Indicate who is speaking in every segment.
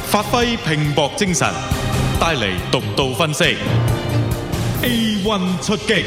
Speaker 1: 發揮拼搏精神，帶嚟獨到分析。A1 出擊。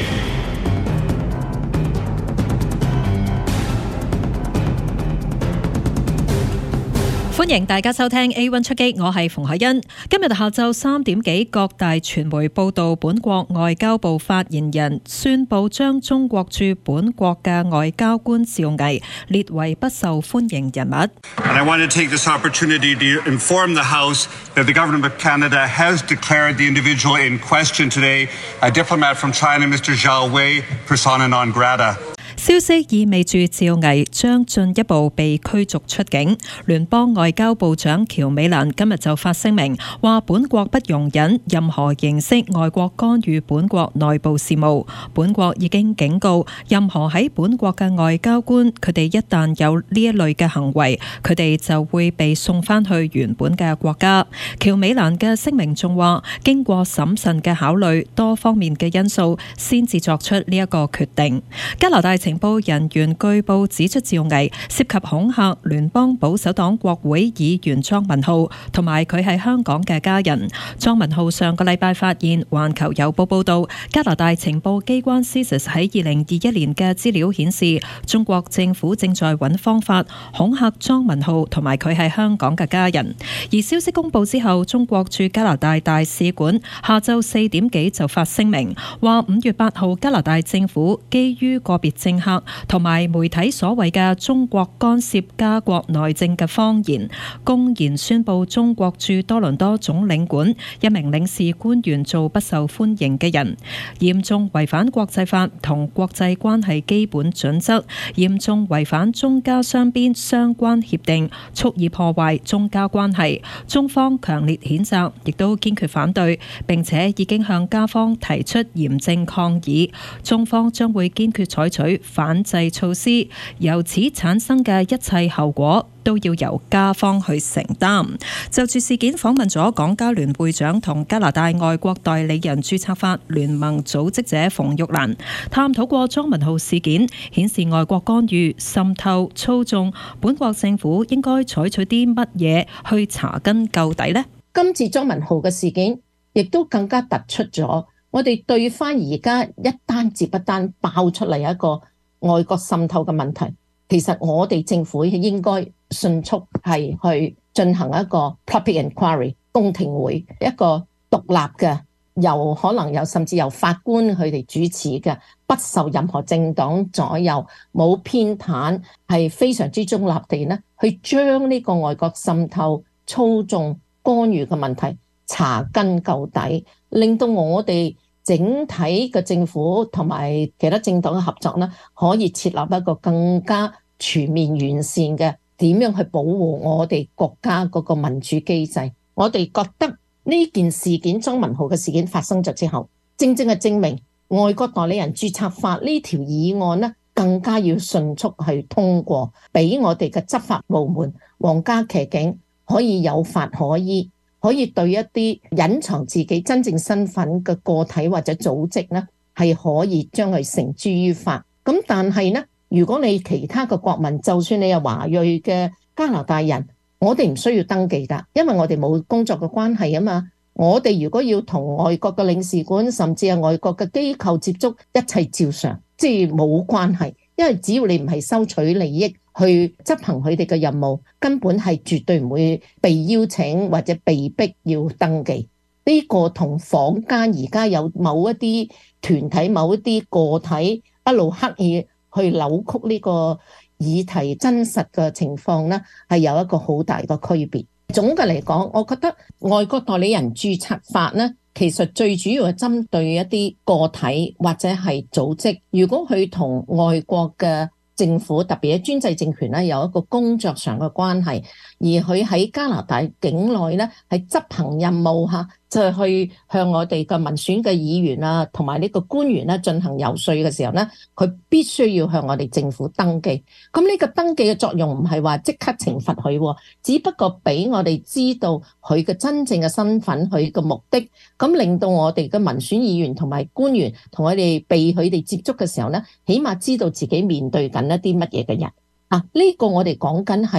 Speaker 2: 歡迎大家收聽 A1 出擊，我係馮海欣。今日下晝3點幾，各大傳媒報道，本國外交部發言人宣布將中國駐本國嘅外交官趙毅列為不受歡迎人物。
Speaker 3: And I want to take this opportunity to inform the House that the Government of Canada has declared the individual in question today, a diplomat from China, Mr. Zhao Wei, persona non grata.
Speaker 2: 消息意味住趙毅將進一步被驅逐出境。聯邦外交部長喬美蘭今日就發聲明，話本國不容忍任何形式外國干預本國內部事務。本國已經警告任何喺本國嘅外交官，佢哋一旦有呢一類嘅行為，佢哋就會被送返去原本嘅國家。喬美蘭嘅聲明仲話，經過審慎嘅考慮多方面嘅因素，先至作出呢一個決定。加拿大情報人員據報指出，趙毅涉及恐嚇聯邦保守黨國會議員莊文浩同埋佢喺香港嘅家人。莊文浩上個禮拜發現《環球郵報》報道，加拿大情報機關 CSIS 喺2021年嘅資料顯示，中國政府正在揾方法恐嚇莊文浩同埋佢喺香港嘅家人。而消息公佈之後，中國駐加拿大大使館下晝4點幾就發聲明，話5月8號加拿大政府基於個別政客同埋媒體所謂嘅中國干涉加國內政嘅謊言，公然宣布中國駐多倫多總領館一名領事官員做不受歡迎嘅人，嚴重違反國際法同國際關係基本準則，嚴重違反中加雙邊相關協定，蓄意破壞中加關係。中方強烈譴責，亦都堅決反對，並且已經向加方提出嚴正抗議。中方將會堅決採取反制措施，由此產生嘅一切後果都要由加方去承擔。就住事件訪問咗港加聯會長同加拿大外國代理人註冊法聯盟組織者馮玉蘭，探討過莊文浩事件，顯示外國干預、滲透、操縱，本國政府應該採取啲乜嘢去查根究底呢？
Speaker 4: 今次莊文浩嘅事件亦都更加突出咗，我哋對翻而家一單接一單爆出嚟一個外國滲透嘅問題，其實我哋政府應該迅速係去進行一個 public inquiry 公聽會，一個獨立嘅，可能甚至由法官佢哋主持嘅，不受任何政黨左右，冇偏袒，係非常之中立地呢，去將呢個外國滲透、操縱、干預嘅問題查根究底，令到我哋整體嘅政府同埋其他政黨嘅合作呢，可以設立一個更加全面完善嘅點樣去保護我哋國家嗰個民主機制。我哋覺得呢件事件，莊文浩嘅事件發生咗之後，正正係證明外國代理人註冊法呢條議案呢，更加要迅速去通過，俾我哋嘅執法部門皇家騎警可以有法可依，可以對一啲隱藏自己真正身份嘅個體或者組織呢，係可以將佢繩之於法。咁但係呢，如果你其他嘅國民，就算你係華裔嘅加拿大人，我哋唔需要登記㗎，因為我哋冇工作嘅關係啊嘛。我哋如果要同外國嘅領事館甚至係外國嘅機構接觸，一切照常，即係冇關係。因為只要你唔係收取利益去執行佢哋嘅任務，根本係絕對唔會被邀請或者被逼要登記。呢個同坊間而家有某一啲團體、某一啲個體一路刻意去扭曲呢個議題真實嘅情況呢，係有一個好大嘅區別。總嘅嚟講，我覺得外國代理人註冊法呢，其實最主要係針對一啲個體或者係組織，如果佢同外國嘅政府，特別係專制政權咧，有一個工作上嘅關係，而佢喺加拿大境內咧係執行任務嚇，就係去向我哋嘅民選嘅議員啊，同埋呢個官員咧進行遊說嘅時候咧，佢必須要向我哋政府登記。咁呢個登記嘅作用唔係話即刻懲罰佢，只不過俾我哋知道佢嘅真正嘅身份，佢嘅目的，咁令到我哋嘅民選議員同埋官員同我哋被佢哋接觸嘅時候咧，起碼知道自己面對緊一啲乜嘢嘅人啊。呢個我哋講緊係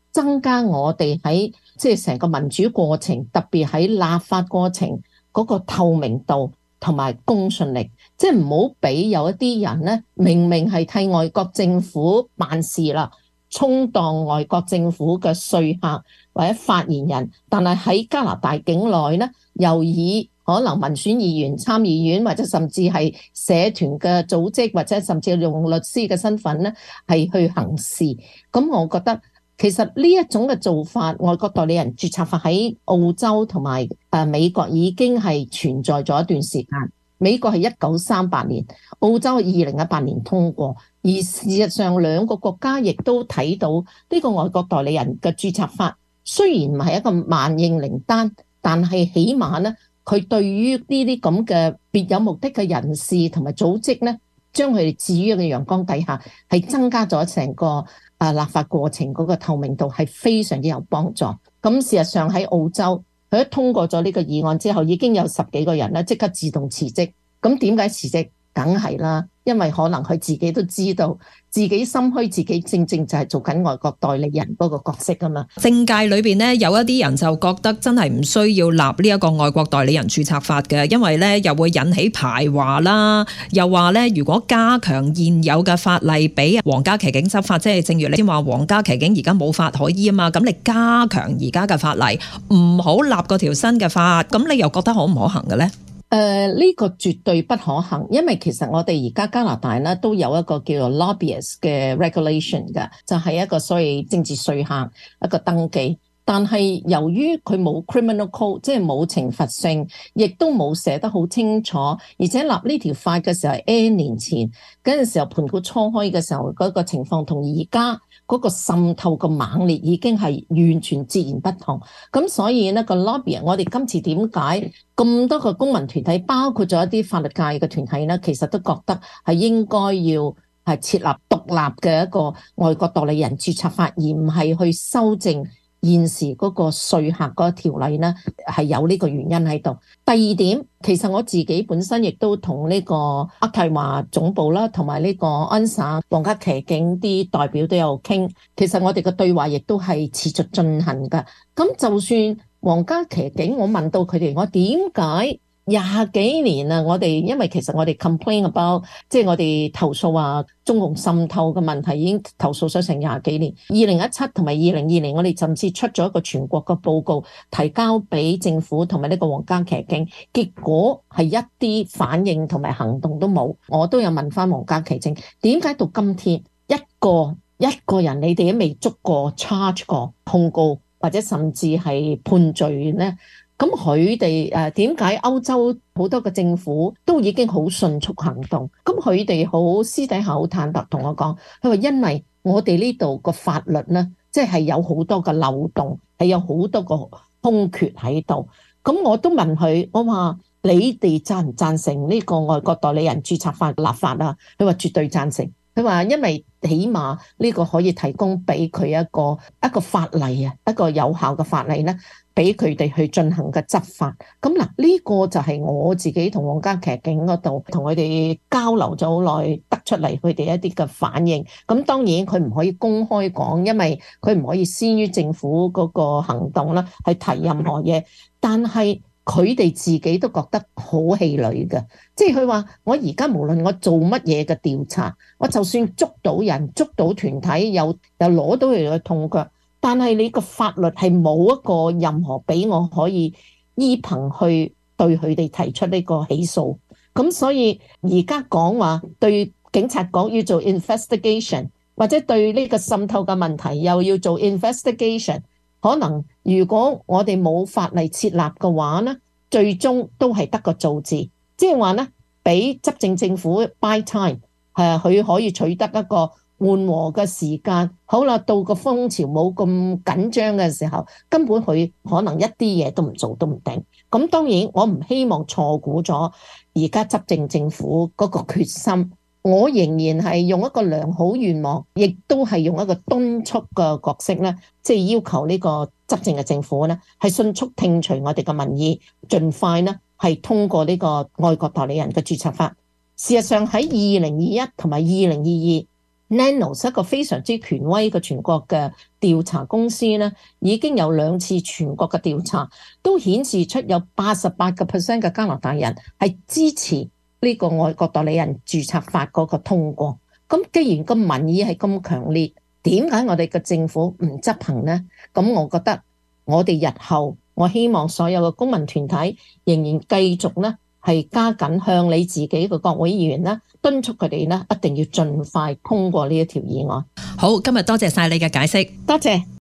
Speaker 4: 增加我哋喺即係成個民主過程，特別喺立法過程嗰個透明度同埋公信力，即係唔好俾有一啲人咧，明明係替外國政府辦事啦，充當外國政府嘅說客或者發言人，但係喺加拿大境內咧，又以可能民選議員、參議院或者甚至係社團嘅組織，或者甚至用律師嘅身份咧，係去行事。咁我覺得其實呢一種嘅做法，外國代理人註冊法喺澳洲同埋美國已經係存在咗一段時間。美國係1938年，澳洲2018年通過。而事實上兩個國家亦都睇到呢個外國代理人嘅註冊法，雖然唔係一個萬應靈丹，但係起碼咧，佢對於呢啲咁嘅別有目的嘅人士同埋組織咧，將佢哋置於一個陽光底下，係增加咗成個立法過程嗰個透明度，係非常之有幫助。咁事實上喺澳洲，佢一通過咗呢個議案之後，已經有10幾個人咧即刻自動辭職。咁點解辭職？梗係啦，因為可能佢自己都知道自己心虛，自己正正就係做緊外國代理人嗰個角色啊嘛。
Speaker 2: 政界裏邊呢，有一啲人就覺得真係唔需要立呢一個外國代理人註冊法嘅，因為呢又會引起排華啦，又話呢如果加強現有嘅法例俾皇家騎警執法，即係正如你先話皇家騎警而家冇法可依啊嘛，咁你加強而家嘅法例，唔好立嗰條新嘅法，咁你又覺得可唔可行嘅呢？
Speaker 4: 呢個絕對不可行，因為其實我哋而家加拿大咧都有一個叫做 lobbyist 嘅 regulation 嘅，就係一個所謂政治說客一個登記。但係由於佢冇 criminal code， 即係冇懲罰性，亦都冇寫得好清楚，而且立呢條法嘅時候係 N 年前嗰陣時候盤古初開嘅時候嗰個情況，同而家嗰個滲透嘅猛烈已經係完全截然不同。咁所以呢個 lobby， 我哋今次點解咁多個公民團體，包括咗一啲法律界嘅團體呢，其實都覺得係應該要係設立獨立嘅一個外國代理人註冊法，而唔係去修正現時嗰個說客嗰個條例呢，係有呢個原因喺度。第二點，其實我自己本身亦都同呢個渥太華總部啦，同埋呢個安省皇家騎警啲代表都有傾。其實我哋嘅對話亦都係持續進行㗎。咁就算皇家騎警，我問到佢哋，我點解20幾年啊？我哋因為其實我哋 complain about， 即係我哋投訴話中共滲透嘅問題已經投訴咗成20幾年。2017同埋2020，我哋甚至出咗一個全國嘅報告，提交俾政府同埋呢個皇家騎警，結果係一啲反應同埋行動都冇。我都有問翻皇家騎警，點解到今天一個人你哋都未捉過 charge 過控告或者甚至係判罪呢？咁佢哋點解歐洲好多個政府都已經好迅速行動？咁佢哋好私底下好坦白同我講，佢話因為我哋呢度個法律呢，即係有好多個漏洞，係有好多個空缺喺度。咁我都問佢，我話你哋贊唔贊成呢個外國代理人註冊法立法啊？佢話絕對贊成。佢話因為起碼呢個可以提供俾佢一個法例啊，一個有效嘅法例呢，俾佢哋去進行嘅執法。咁嗱，呢個就係我自己同皇家騎警嗰度同佢哋交流咗好耐，得出嚟佢哋一啲嘅反應。咁當然佢唔可以公開講，因為佢唔可以先於政府嗰個行動啦，去提任何嘢。但係佢哋自己都覺得好氣餒嘅，即係佢話我而家無論我做乜嘢嘅調查，我就算捉到人、捉到團體，又攞到佢嘅痛腳，但係你個法律係冇一個任何俾我可以依憑去對佢哋提出呢個起訴。咁所以而家講話對警察講要做 investigation， 或者對呢個滲透嘅問題又要做 investigation。可能如果我哋冇法例設立嘅話呢，最終都係得個做字，即係話呢，俾執政政府 buy time， 佢可以取得一個緩和嘅時間。好啦，到個風潮冇咁緊張嘅時候，根本佢可能一啲嘢都唔做都唔定。咁當然我唔希望錯估咗而家執政政府嗰個決心。我仍然係用一個良好願望，亦都係用一個敦促嘅角色咧，即係要求呢個執政嘅政府咧，係迅速聽取我哋嘅民意，盡快咧係通過呢個外國代理人嘅註冊法。事實上喺2021同埋2022 Nanos 一個非常之權威嘅全國嘅調查公司咧，已經有2次全國嘅調查，都顯示出有88% 嘅加拿大人係支持呢個外國代理人註冊法嗰個通過。咁既然個民意係咁強烈，點解我哋嘅政府唔執行呢？咁我覺得我哋日後，我希望所有嘅公民團體仍然繼續呢係加緊向你自己嘅國會議員呢敦促佢哋呢一定要盡快通過呢一條議案。
Speaker 2: 好，今日多謝晒你嘅解釋，
Speaker 4: 多謝。